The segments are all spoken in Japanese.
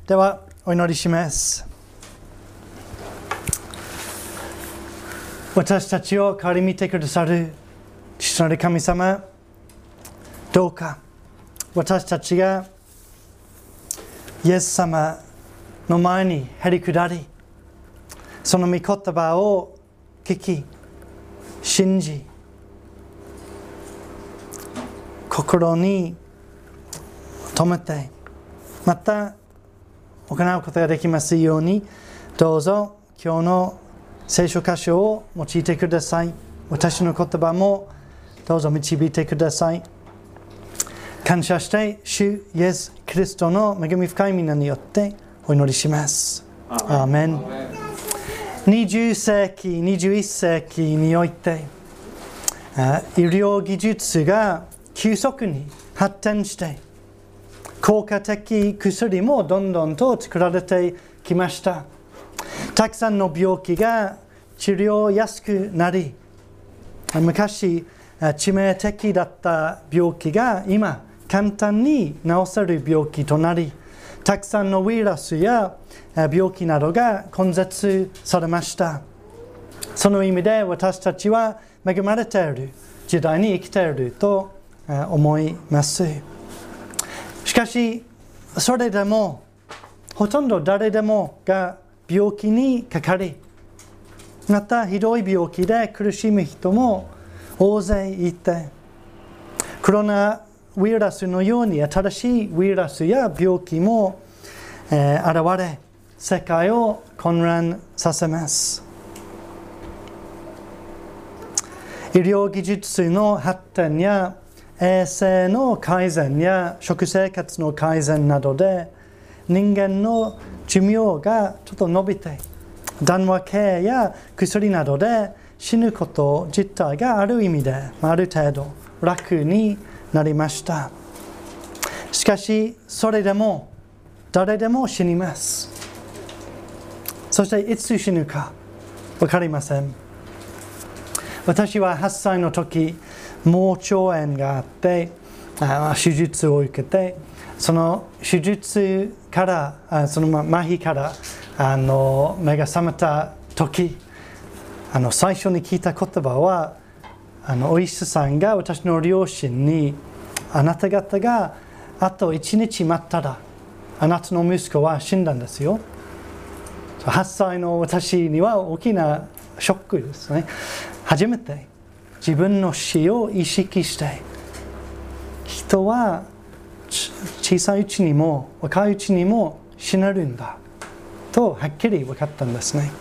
ではお祈りします。私たちを顧みてくださる父なる神様、どうか私たちがイエス様の前にへり下り、その御言葉を聞き、信じ、心に留めて、また行うことができますように、どうぞ今日の聖書箇所を用いてください。私の言葉もどうぞ導いてください。感謝して主イエス・キリストの恵み深い皆によってお祈りします。アーメン。20世紀、21世紀において医療技術が急速に発展して、効果的薬もどんどんと作られてきました。たくさんの病気が治療やすくなり、昔致命的だった病気が今簡単に治せる病気となり、たくさんのウイルスや病気などが根絶されました。その意味で私たちは恵まれている時代に生きていると思います。しかし、それでもほとんど誰でもが病気にかかり、またひどい病気で苦しむ人も大勢いて、コロナウイルスのように新しいウイルスや病気も現れ、世界を混乱させます。医療技術の発展や衛生の改善や食生活の改善などで人間の寿命がちょっと伸びて、緩和系や薬などで死ぬこと自体がある意味である程度楽になりました。しかしそれでも誰でも死にます。そしていつ死ぬか分かりません。私は8歳の時、盲腸炎があって、手術を受けて、その手術からその麻痺から目が覚めた時、最初に聞いた言葉は、お医者さんが私の両親に、あなた方があと1日待ったらあなたの息子は死んだんですよ。8歳の私には大きなショックですね。初めて自分の死を意識して、人は小さいうちにも若いうちにも死ねるんだとはっきり分かったんですね。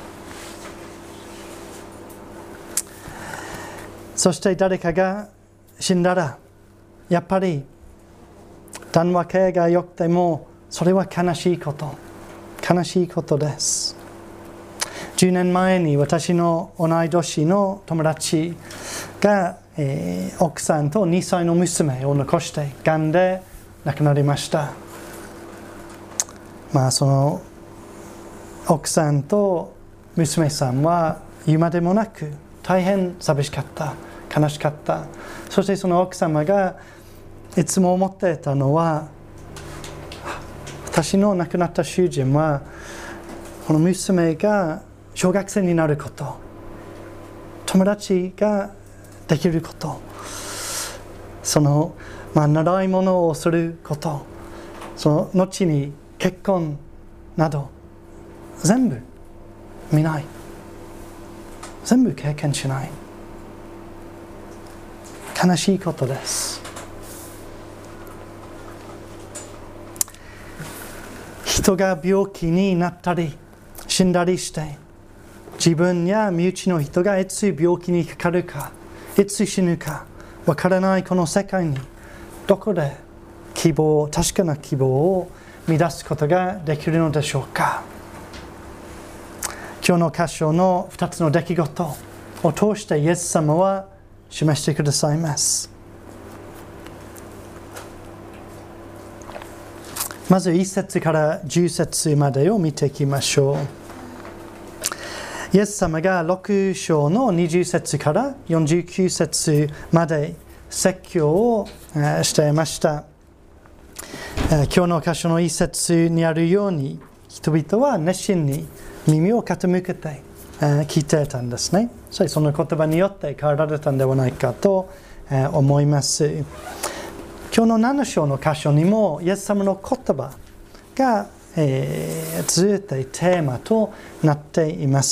そして誰かが死んだら、やっぱり緩和系が良くてもそれは悲しいことです。10年前に私の同い年の友達が、奥さんと2歳の娘を残してがんで亡くなりました。その奥さんと娘さんは言うまでもなく大変寂しかった、悲しかった。そしてその奥様がいつも思っていたのは、私の亡くなった主人はこの娘が小学生になること、友達ができること、その、習い物をすること、その後に結婚など全部見ない、全部経験しない。悲しいことです。人が病気になったり死んだりして、自分や身内の人がいつ病気にかかるか、いつ死ぬかわからないこの世界に、どこで確かな希望を見出すことができるのでしょうか。今日の箇所の2つの出来事を通してイエス様は示してくださいます。まず1節から10節までを見ていきましょう。イエス様が6章の20節から49節まで説教をしていました。 今日の箇所の一節にあるように、人々は熱心に耳を傾けて聞いていたんですね。その言葉によって変わられたんではないかと思います。今日の7章の箇所にもイエス様の言葉がずっとテーマとなっています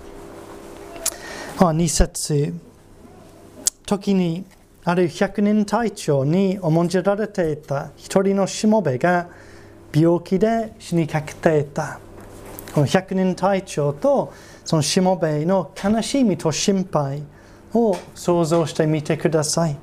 。2節、時にある百人隊長に重んじられていた一人のしもべが病気で死にかけていた。この百人隊長とそのしもべの悲しみと心配を想像してみてください。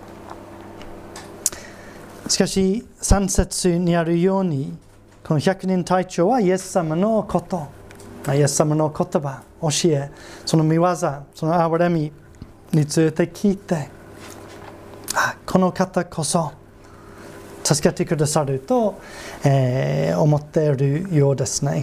しかし3節にあるように、この百人隊長はイエス様のこと、イエス様の言葉、教え、その見業、その憐れみについて聞いて、この方こそ助けてくださると、思っているようですね。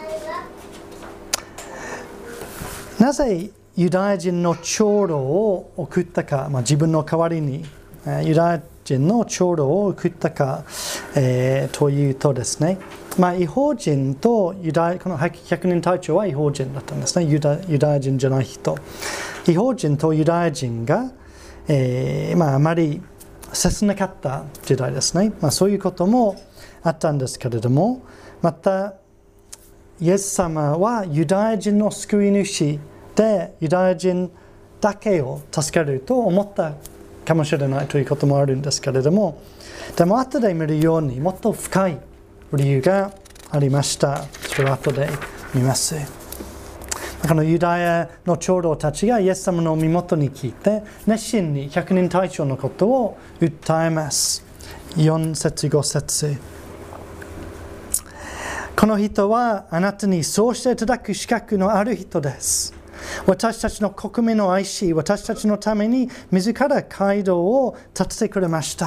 なぜユダヤ人の長老を送ったか、自分の代わりにユダヤ人の長老を送ったか、というとですね、異邦人とこの百人隊長は異邦人だったんですね。ユダヤ人じゃない人。異邦人とユダヤ人が、あまり接せなかった時代ですね。そういうこともあったんですけれども、またイエス様はユダヤ人の救い主でユダヤ人だけを助けると思ったかもしれないということもあるんですけれども、でも後で見るようにもっと深い理由がありました。それを後で見ます。このユダヤの長老たちがイエス様の身元に聞いて熱心に百人隊長のことを訴えます。4節5節、この人はあなたにそうしていただく資格のある人です。私たちの国民を愛し、私たちのために自ら街道を立ててくれました。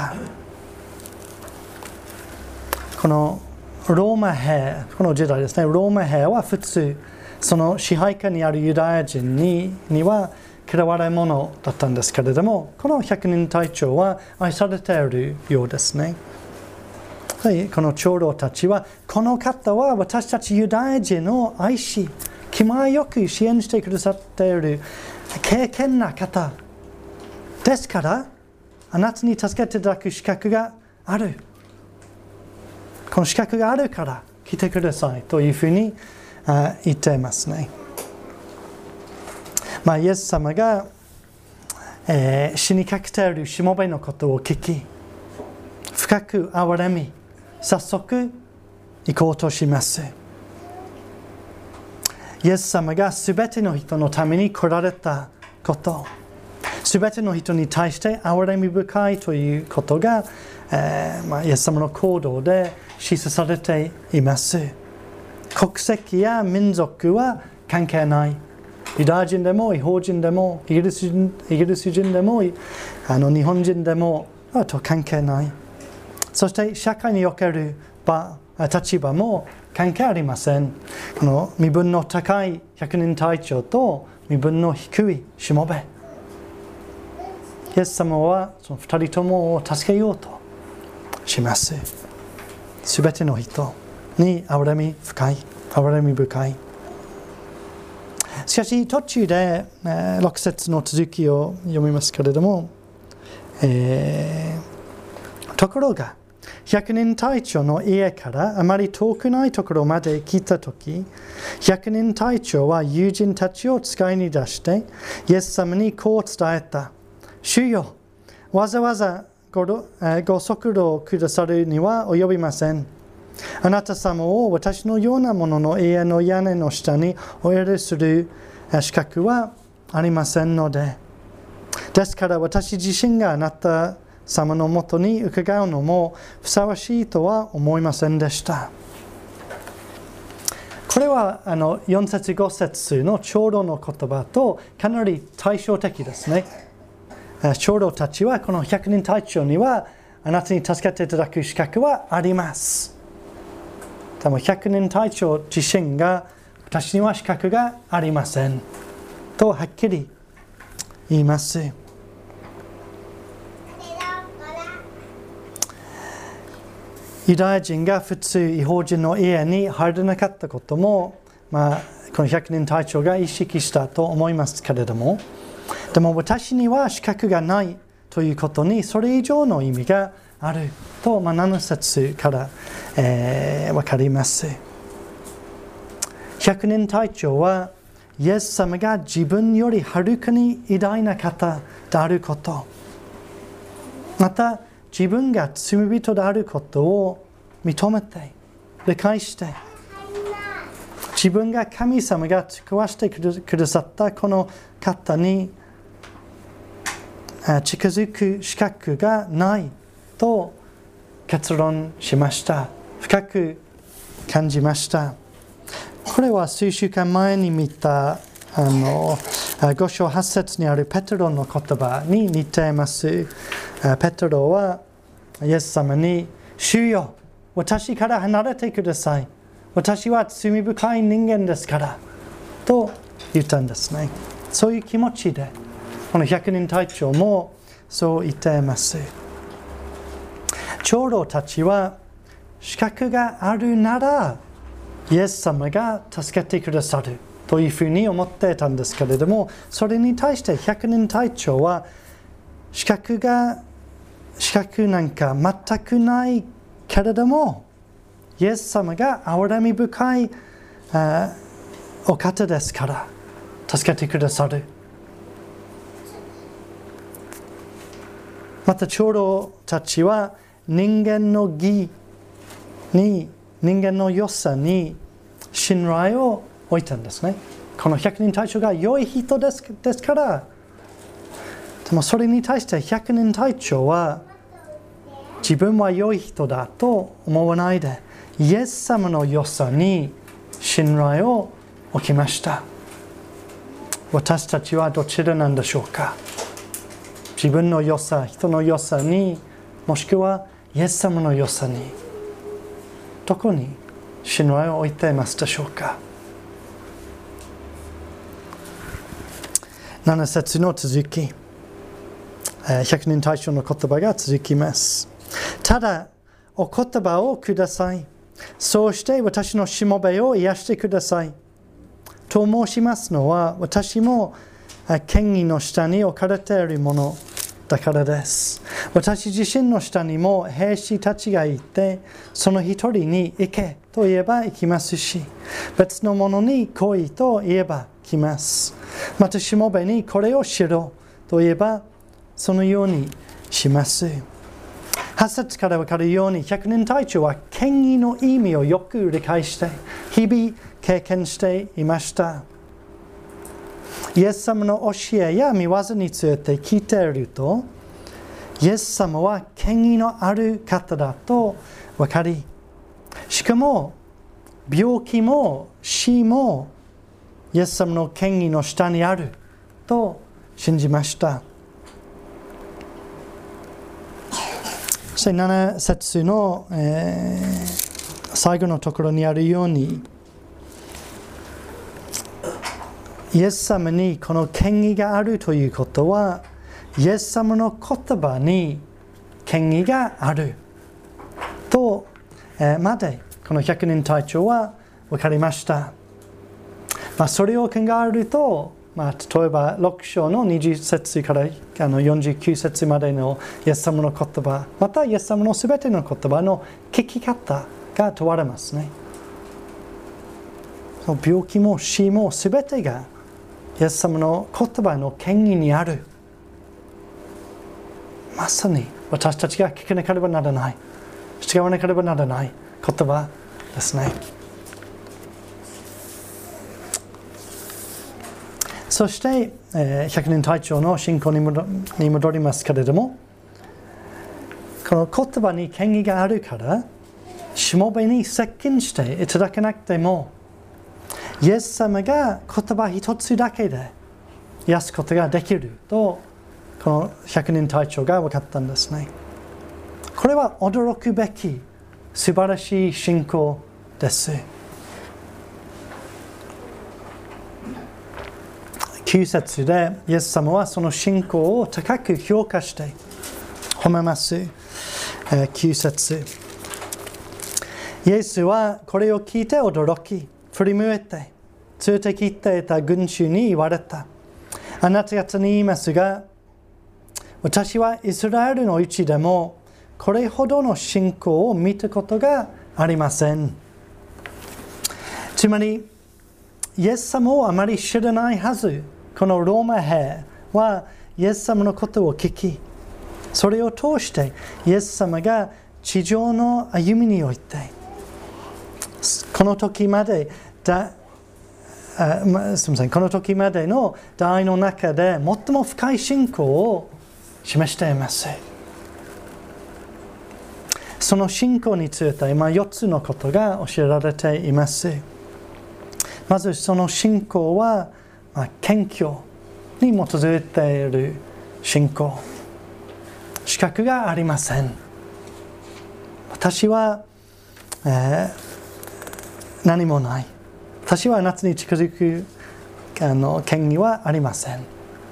このローマ兵、この時代ですね、ローマ兵は普通その支配下にあるユダヤ人には嫌われ者だったんですけれども、この百人隊長は愛されているようですね。この長老たちは、この方は私たちユダヤ人を愛し、気前よく支援してくださっている敬虔な方ですから、あなたに助けていただく資格がある。この資格があるから来てくださいというふうに言っていますね。イエス様が、死にかけているしもべのことを聞き、深く憐れみ、早速行こうとします。イエス様がすべての人のために来られたこと、すべての人に対して憐れみ深いということが、イエス様の行動で示唆されています。国籍や民族は関係ない。ユダヤ人でも、異邦人でも、イギリス人でも、日本人でも、と関係ない。そして社会における立場も関係ありません。この身分の高い百人隊長と身分の低いしもべ。イエス様はその2人ともを助けようとします。すべての人に憐れみ深い。しかし途中で6節の続きを読みますけれども、ところが百人隊長の家からあまり遠くないところまで来たとき、百人隊長は友人たちを使いに出してイエス様にこう伝えた。主よ、わざわざご足労くださるには及びません。あなた様を私のようなものの家の屋根の下にお入れする資格はありませんので。ですから私自身があなた様のもとに伺うのもふさわしいとは思いませんでした。これは4節5節の長老の言葉とかなり対照的ですね。長老たちはこの百人隊長にはあなたに助けていただく資格はあります。でも百人隊長自身が私には資格がありませんとはっきり言います。 ユダヤ人が普通異邦人の家に入れなかったことも、この百人隊長が意識したと思いますけれども、でも私には資格がないということにそれ以上の意味があると、7節から、分かります。百人隊長はイエス様が自分よりはるかに偉大な方であること、また自分が罪人であることを認めて理解して、自分が神様が使わせてくださったこの方に近づく資格がないと結論しました。深く感じました。これは数週間前に見た5章8節にあるペテロの言葉に似ています。ペテロはイエス様に、主よ、私から離れてください。私は罪深い人間ですからと言ったんですね。そういう気持ちでこの百人隊長もそう言っています。長老たちは資格があるならイエス様が助けてくださるというふうに思っていたんですけれども、それに対して百人隊長は資格なんか全くないけれども、イエス様が憐れみ深いお方ですから助けてくださる。また長老たちは人間の義に、人間の良さに信頼を置いたんですね。この百人隊長が良い人ですから。でもそれに対して百人隊長は自分は良い人だと思わないで、イエス様の良さに信頼を置きました。私たちはどちらなんでしょうか。自分の良さ、人の良さに、もしくはイエス様の良さに、どこに信頼を置いていますでしょうか。7節の続き、百人隊長の言葉が続きます。ただお言葉をください。そうして私のしもべを癒してください。と申しますのは、私も権威の下に置かれているものだからです。私自身の下にも兵士たちがいて、その一人に行けと言えば行きますし、別の者に来いと言えば来ます。またしもべにこれをしろと言えばそのようにします。8節から分かるように、百人隊長は権威の意味をよく理解して日々経験していました。イエス様の教えや御業について聞いていると、イエス様は権威のある方だと分かり、しかも病気も死もイエス様の権威の下にあると信じました。そして7節の、最後のところにあるように、イエス様にこの権威があるということは、イエス様の言葉に権威があると、までこの百人隊長は分かりました。それを考えると、例えば6章の20節から49節までのイエス様の言葉、またイエス様のすべての言葉の聞き方が問われますね。病気も死もすべてがイエス様の言葉の権威にある。まさに私たちが聞かなければならない、従わなければならない言葉ですね。そして、百人隊長の信仰に戻りますけれども、この言葉に権威があるから、しもべに接近していただけなくても、イエス様が言葉一つだけで癒すことができると、この百人隊長が分かったんですね。これは驚くべき素晴らしい信仰です。9節でイエス様はその信仰を高く評価して褒めます。9節、 イエスはこれを聞いて驚き、振り向いて、連れてきていた群衆に言われた。あなた方に言いますが、私はイスラエルのうちでもこれほどの信仰を見たことがありません。つまり、イエス様をあまり知らないはず、このローマ兵はイエス様のことを聞き、それを通してイエス様が地上の歩みにおいて、この時までこの時までの代の中で最も深い信仰を示しています。その信仰について4つのことが教えられています。まずその信仰は、謙虚に基づいている信仰。資格がありません。私は、何もない。私はあなたに近づく権利はありません。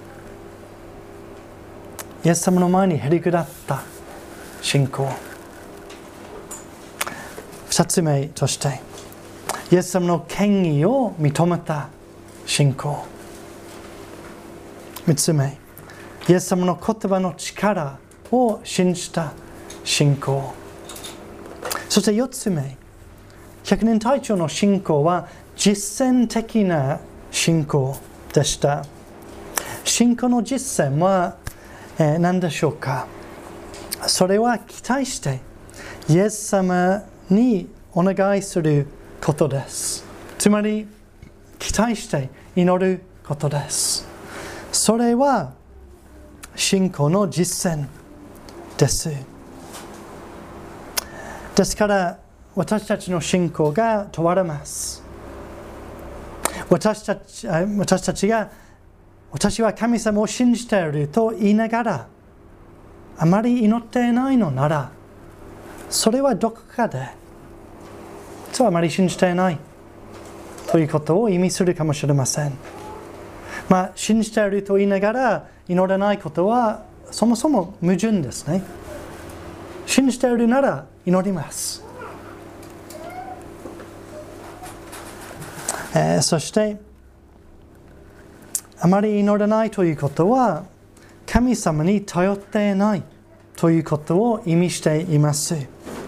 イエス様の前にへりくだった信仰。2つ目として、イエス様の権威を認めた信仰。3つ目、イエス様の言葉の力を信じた信仰。そして4つ目、百人隊長の信仰は実践的な信仰でした。信仰の実践は、何でしょうか。それは期待してイエス様にお願いすることです。つまり期待して祈ることです。それは信仰の実践です。ですから私たちの信仰が問われます。私たちが私は神様を信じていると言いながらあまり祈っていないのなら、それはどこかで実はあまり信じていないということを意味するかもしれません。信じていると言いながら祈らないことはそもそも矛盾ですね。信じているなら祈ります。そしてあまり祈らないということは神様に頼っていないということを意味しています。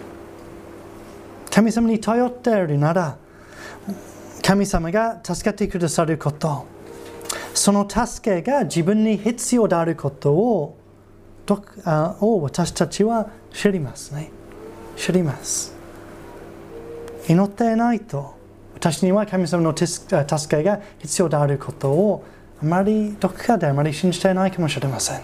神様に頼っているなら神様が助けてくださること、その助けが自分に必要であることを私たちは知りますね。知ります。祈っていないと私には神様の助けが必要であることをどこかであまり信じていないかもしれません。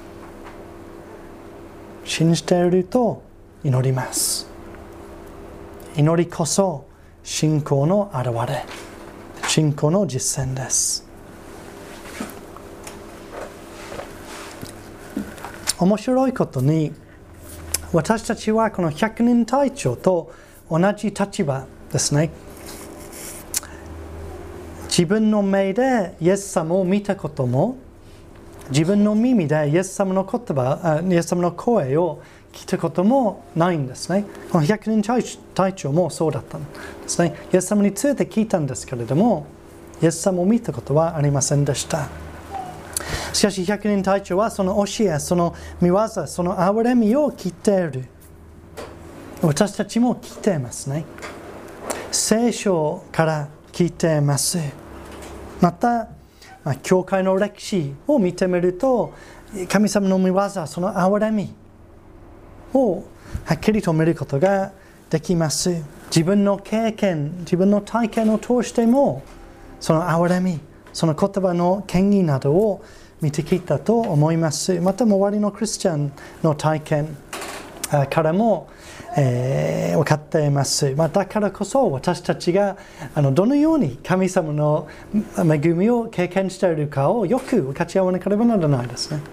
信じていると祈ります。祈りこそ信仰の表れ、信仰の実践です。面白いことに、私たちはこの百人隊長と同じ立場ですね。自分の目でイエス様を見たことも、自分の耳でイエス様の言葉、イエス様の声を聞いたこともないんですね。この百人隊長もそうだったんですね。イエス様について聞いたんですけれども、イエス様を見たことはありませんでした。しかし百人隊長はその教え、その見業、その憐れみを聞いている。私たちも聞いていますね。聖書から聞いています。また、教会の歴史を見てみると、神様の見業、その憐れみをはっきりと見ることができます。自分の経験、自分の体験を通しても、その憐れみ、その言葉の権威などを見てきたと思います。また周りのクリスチャンの体験からも、分かっています。だからこそ私たちがどのように神様の恵みを経験しているかをよく分かち合わなければならないですね。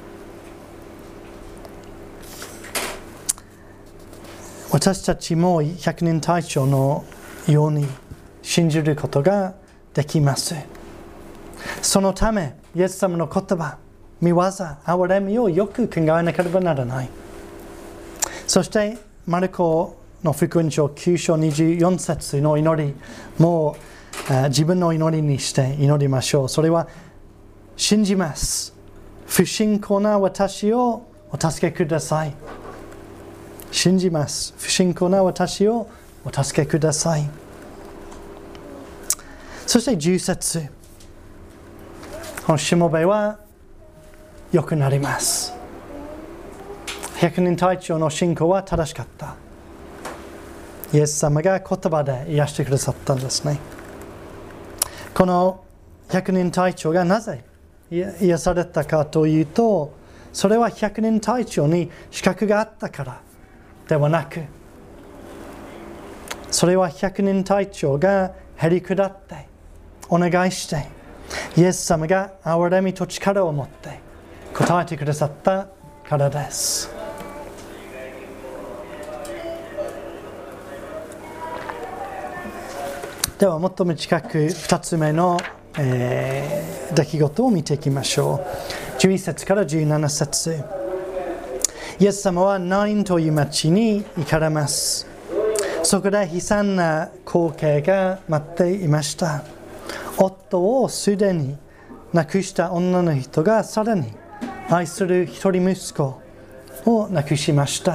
私たちも百人隊長のように信じることができます。そのためイエス様の言葉、見業、憐れみをよく考えなければならない。そしてマルコの福音書9章24節の祈りも自分の祈りにして祈りましょう。それは信じます。不信仰な私をお助けください。信じます。不信仰な私をお助けください。そして10節。このしもべは良くなります。百人隊長の信仰は正しかった。イエス様が言葉で癒してくださったんですね。この百人隊長がなぜ癒されたかというと、それは百人隊長に資格があったからではなく、それは百人隊長がへり下ってお願いして、イエス様が憐れみと力を持って答えてくださったからです。ではもっと短く2つ目の、出来事を見ていきましょう。11節から17節。イエス様はナインという町に行かれます。そこで悲惨な光景が待っていました。夫をすでに亡くした女の人がさらに愛する一人息子を亡くしました。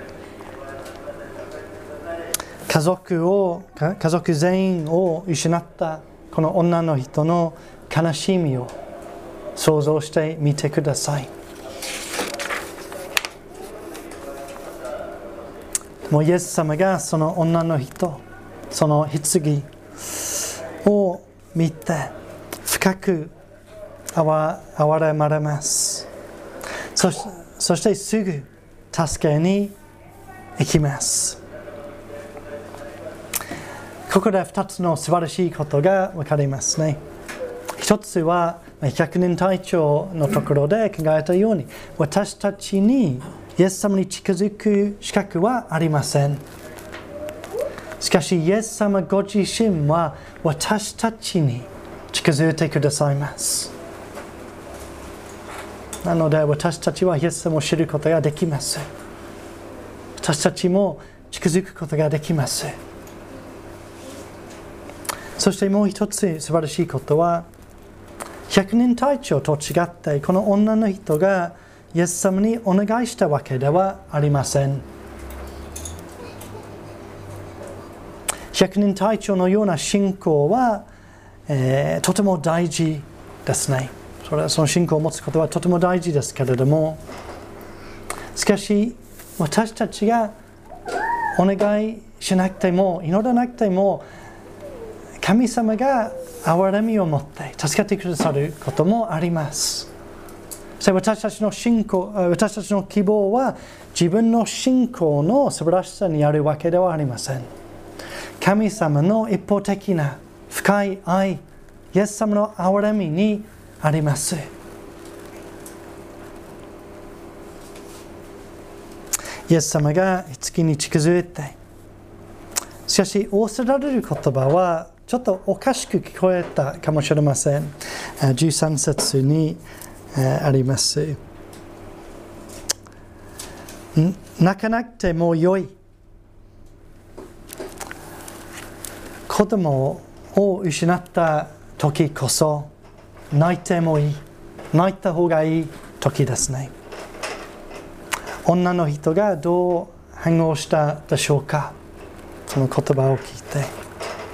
家族全員を失ったこの女の人の悲しみを想像してみてください。もうイエス様がその女の人、その棺を見て深く憐れまれます。そしてすぐ助けに行きます。ここで2つの素晴らしいことが分かりますね。一つは百人隊長のところで考えたように、私たちにイエス様に近づく資格はありません。しかしイエス様ご自身は私たちに近づいてくださいます。なので私たちはイエス様を知ることができます。私たちも近づくことができます。そしてもう一つ素晴らしいことは、百人隊長と違ってこの女の人がイエス様にお願いしたわけではありません。百人隊長のような信仰は、とても大事ですね。その信仰を持つことはとても大事ですけれども、しかし私たちがお願いしなくても祈らなくても神様が憐れみを持って助けてくださることもあります。そして私たちの希望は自分の信仰の素晴らしさにあるわけではありません。神様の一方的な深い愛、イエス様の憐れみにあります。イエス様が月に近づいて、しかし仰せられる言葉はちょっとおかしく聞こえたかもしれません。13節にあります。泣かなくてもよい。子供を失った時こそ泣いてもいい。泣いた方がいい時ですね。女の人がどう反応したでしょうか。その言葉を聞いて。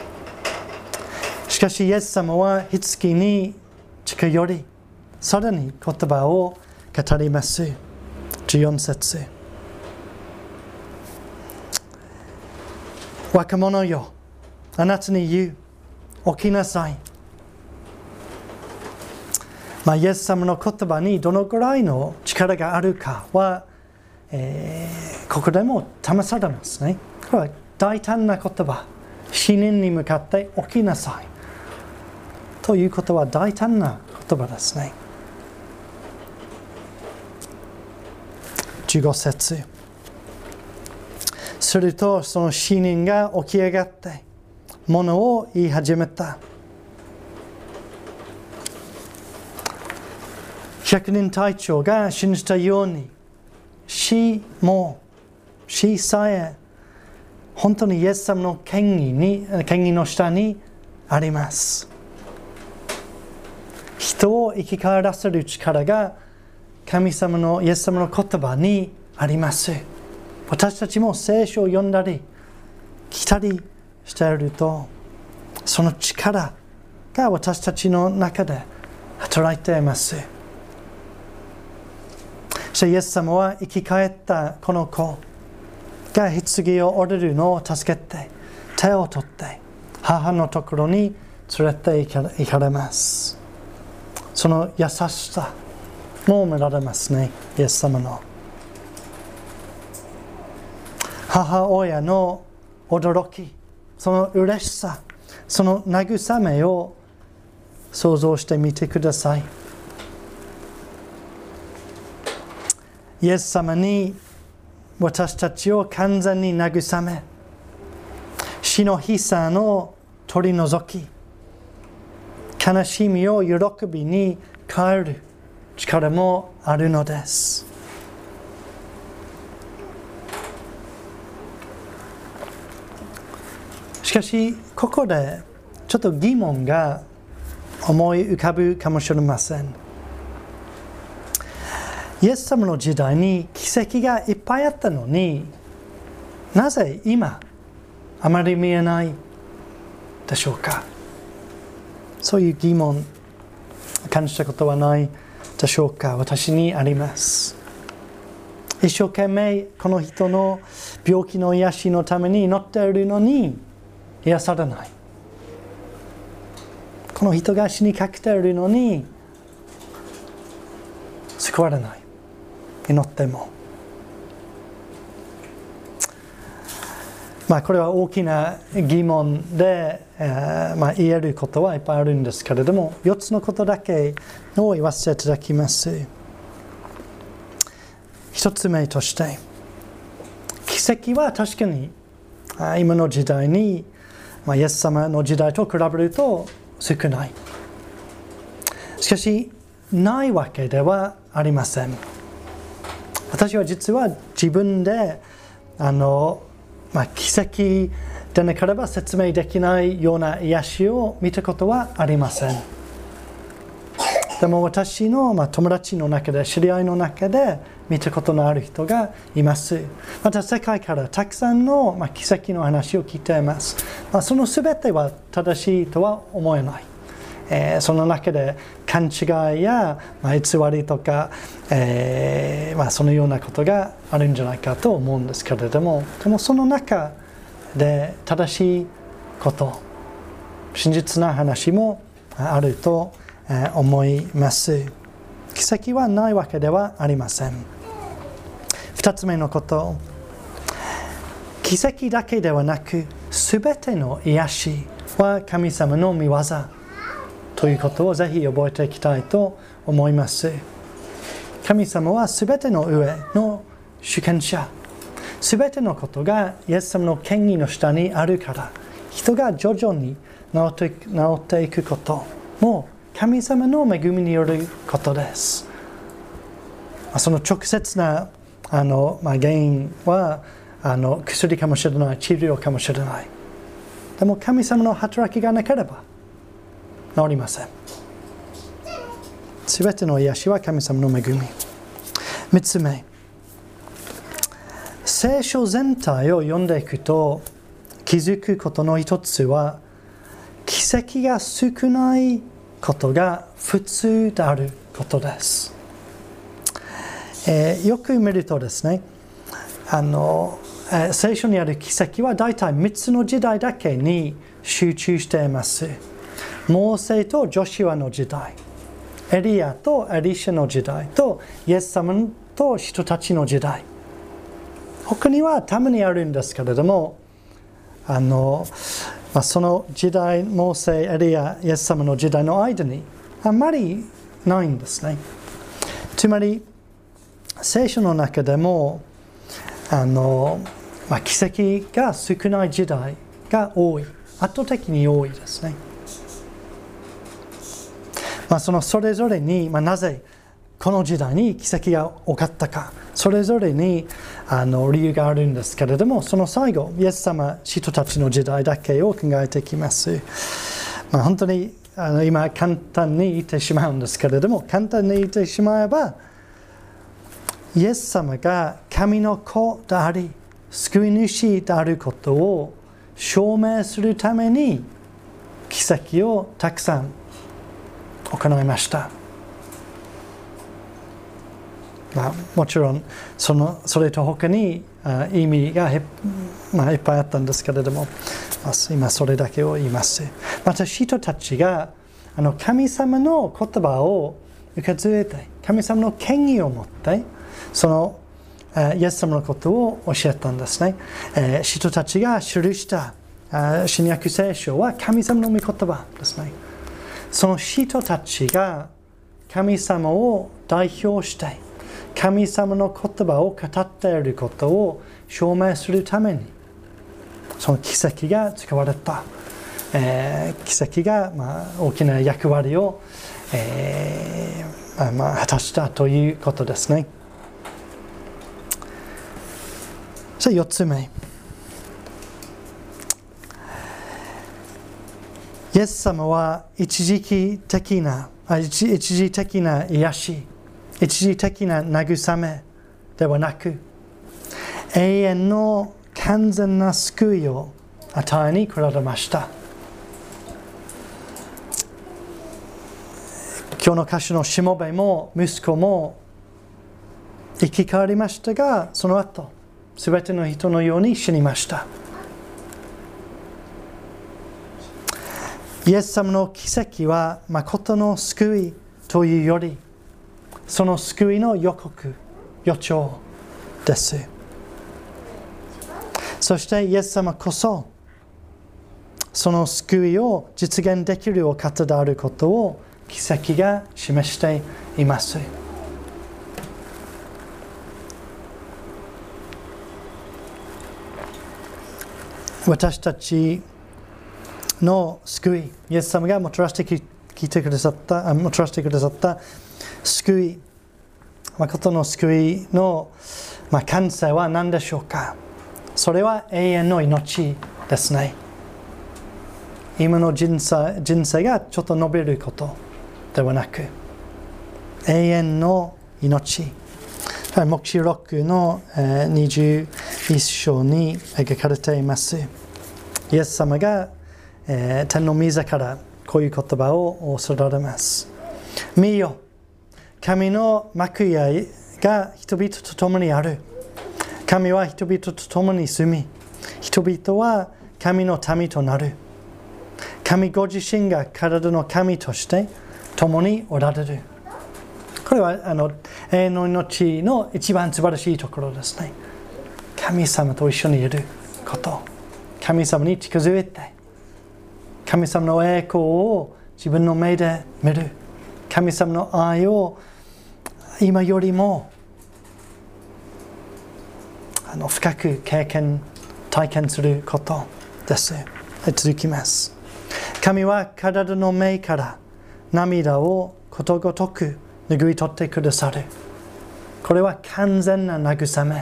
しかしイエス様は棺に近寄り、さらに言葉を語ります。14節。若者よ、あなたに言う、起きなさい。イエス様の言葉にどのくらいの力があるかは、ここでも試されますね。これは大胆な言葉。死人に向かって起きなさい。ということは大胆な言葉ですね。15節。するとその死人が起き上がって物を言い始めた。百人隊長が信じたように死さえ本当にイエス様の権威の下にあります。人を生き返らせる力が神様のイエス様の言葉にあります。私たちも聖書を読んだり来たりしていると、その力が私たちの中で働いています。そしてイエス様は生き返ったこの子が棺を折れるのを助けて、手を取って母のところに連れて行かれます。その優しさも見られますね、イエス様の。母親の驚き、その嬉しさ、その慰めを想像してみてください。イエス様に私たちを完全に慰め、死の悲惨を取り除き、悲しみを喜びに変える力もあるのです。しかし、ここでちょっと疑問が思い浮かぶかもしれません。イエス様の時代に奇跡がいっぱいあったのに、なぜ今あまり見えないでしょうか。そういう疑問感じたことはないでしょうか。私にあります。一生懸命この人の病気の癒しのために祈っているのに癒されない。この人が死にかけているのに救われない。祈っても。これは大きな疑問で、言えることはいっぱいあるんですけれども、4つのことだけを言わせていただきます。1つ目として、奇跡は確かに今の時代に、イエス様の時代と比べると少ない。しかし、ないわけではありません。私は実は自分で奇跡でなければ説明できないような癒しを見たことはありません。でも私の友達の中で、知り合いの中で見たことのある人がいます。また世界からたくさんの奇跡の話を聞いています。その全ては正しいとは思えない。その中で勘違いや偽りとか、そのようなことがあるんじゃないかと思うんですけれども、でもその中で正しいこと、真実な話もあると思います。奇跡はないわけではありません。2つ目のこと、奇跡だけではなく、すべての癒しは神様の御業ということをぜひ覚えていきたいと思います。神様はすべての上の主権者。すべてのことがイエス様の権威の下にあるから、人が徐々に治っていくことも神様の恵みによることです。その直接な原因は薬かもしれない、治療かもしれない。でも神様の働きがなければ治りません。すべての癒しは神様の恵み。3つ目、聖書全体を読んでいくと気づくことの一つは、奇跡が少ないことが普通であることです。よく見るとですね、聖書にある奇跡は大体3つの時代だけに集中しています。モーセとジョシュアの時代、エリアとエリシャの時代とイエス様と人たちの時代。他にはたまにあるんですけれども、その時代、モーセ、エリア、イエス様の時代の間にあまりないんですね。つまり聖書の中でも奇跡が少ない時代が多い、圧倒的に多いですね。それぞれに、なぜこの時代に奇跡が起こったか、それぞれに理由があるんですけれども、その最後、イエス様、人たちの時代だけを考えていきます。本当に今簡単に言ってしまうんですけれども、簡単に言ってしまえば、イエス様が神の子であり、救い主であることを証明するために奇跡をたくさん行いました。もちろんそれと他に意味がいっぱいあったんですけれども、今それだけを言います。また人たちが神様の言葉を受け継いで、神様の権威を持ってイエス様のことを教えたんですね。人たちが記した新約聖書は神様の御言葉ですね。その人たちが神様を代表して神様の言葉を語っていることを証明するためにその奇跡が使われた。奇跡が大きな役割を、果たしたということですね。それ4つ目。イエス様は一時的な癒し、一時的な慰めではなく、永遠の完全な救いを与えに来られました。今日の歌手のしもべも息子も生き変わりましたが、その後、すべての人のように死にました。イエス様の奇跡は誠の救いというより、その救いの予兆です。そしてイエス様こそ、その救いを実現できるお方であることを奇跡が示しています。私たちの救い、イエス様がもたらしてきてくださった救い、誠の救いの完成は何でしょうか。それは永遠の命ですね。今の人生がちょっと伸びることではなく、永遠の命。黙示録の21章に描かれています。イエス様が天の御座からこういう言葉をおっしゃられます。見よ、神の幕屋が人々と共にある。神は人々と共に住み、人々は神の民となる。神ご自身が体の神として共におられる。これは永遠の命の一番素晴らしいところですね。神様と一緒にいること。神様に近づいて、神様の栄光を自分の目で見る。神様の愛を今よりも深く体験することです。続きます。神は体の目から涙をことごとく拭い取ってくださる。これは完全な慰め。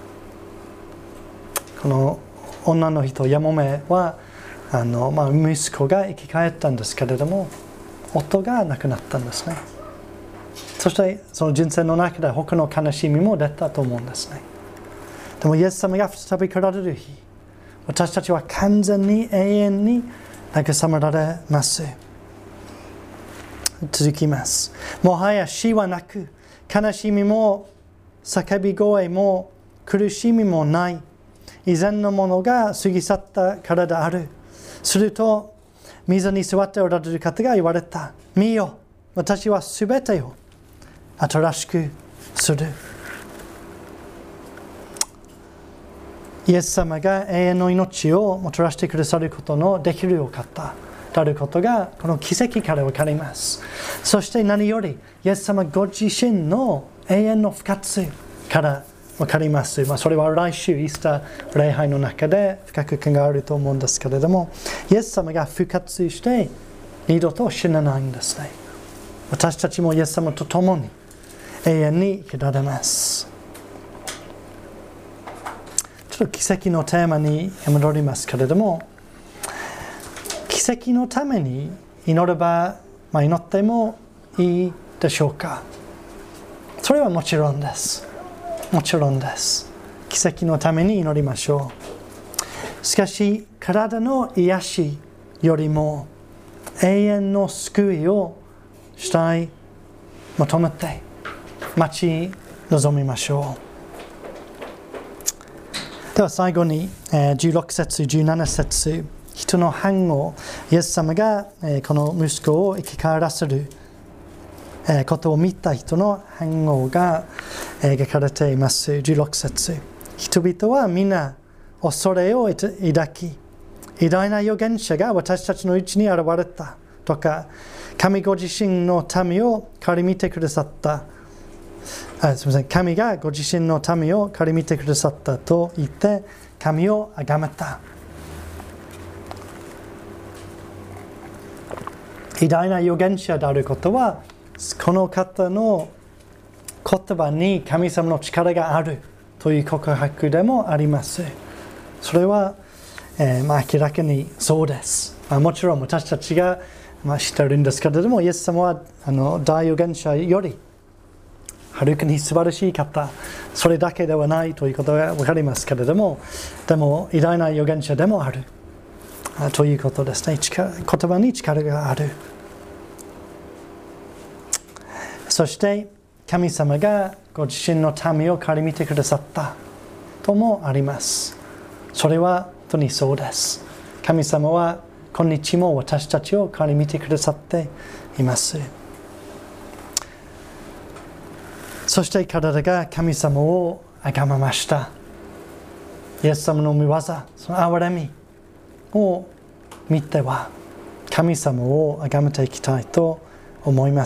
この女の人、やもめは息子が生き返ったんですけれども、夫が亡くなったんですね。そしてその人生の中で他の悲しみも出たと思うんですね。でもイエス様が再び来られる日、私たちは完全に永遠に慰められます。続きます。もはや死はなく、悲しみも叫び声も苦しみもない。以前のものが過ぎ去ったからである。すると、水に座っておられる方が言われた。見よ、私はすべてを新しくする。イエス様が永遠の命をもたらしてくださることのできるお方であることがこの奇跡から分かります。そして何よりイエス様ご自身の永遠の復活から分かります。それは来週イースター礼拝の中で深く考えると思うんですけれども、イエス様が復活して二度と死なないんですね。私たちもイエス様と共に永遠に生きられます。ちょっと奇跡のテーマに戻りますけれども、奇跡のために祈れば、祈ってもいいでしょうか。それはもちろんです。もちろんです。奇跡のために祈りましょう。しかし、体の癒しよりも永遠の救いを主体求めて待ち望みましょう。では最後に16節17節、人の反応、イエス様がこの息子を生き返らせることを見た人の反応が描かれています。16節、人々は皆恐れを抱き、偉大な預言者が私たちのうちに現れたとか、神ご自身の民を顧みてくださった、神がご自身の民を顧みてくださったと言って神を崇めた。偉大な預言者であることは、この方の言葉に神様の力があるという告白でもあります。それは、明らかにそうです。もちろん私たちが、知っているんですけれども、イエス様は大預言者よりはるかに素晴らしい方、それだけではないということが分かりますけれども、でも偉大な預言者でもあるということですね。言葉に力がある。そして神様がご自身の民を顧みてくださったともあります。それは本当にそうです。神様は今日も私たちを顧みてくださっています。そして彼らが神様を崇めました。イエス様の御業、その憐れみを見ては神様を崇めていきたいと思います。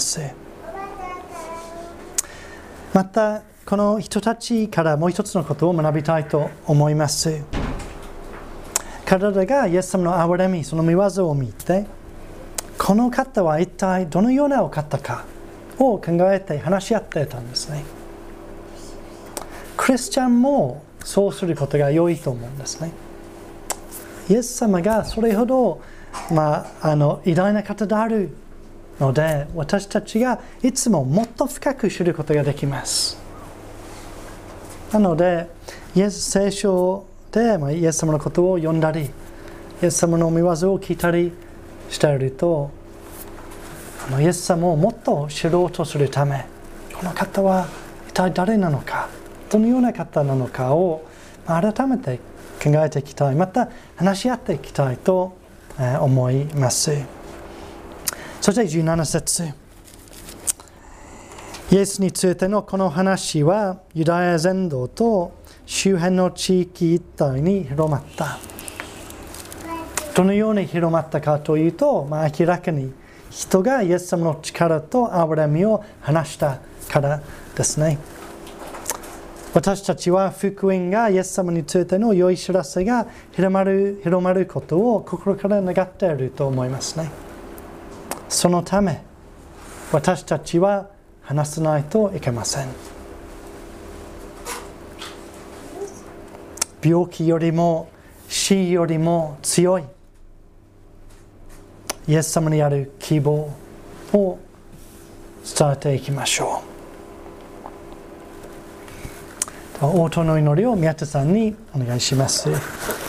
またこの人たちからもう一つのことを学びたいと思います。彼らがイエス様の憐れみ、その御業を見て、この方は一体どのようなお方かを考えて話し合っていたんですね。クリスチャンもそうすることが良いと思うんですね。イエス様がそれほど、偉大な方であるので、私たちがいつももっと深く知ることができます。なので、聖書でイエス様のことを読んだり、イエス様の御業を聞いたりしていると、イエス様をもっと知ろうとするため、この方は一体誰なのか、どのような方なのかを改めて考えていきたい、また話し合っていきたいと思います。そして17節、イエスについてのこの話はユダヤ全土と周辺の地域一帯に広まった。どのように広まったかというと、明らかに人がイエス様の力と憐れみを話したからですね。私たちは福音がイエス様についての良い知らせが広まることを心から願っていると思いますね。そのため私たちは話さないといけません。病気よりも死よりも強いイエス様にある希望を伝えていきましょう。応答の祈りを宮田さんにお願いします。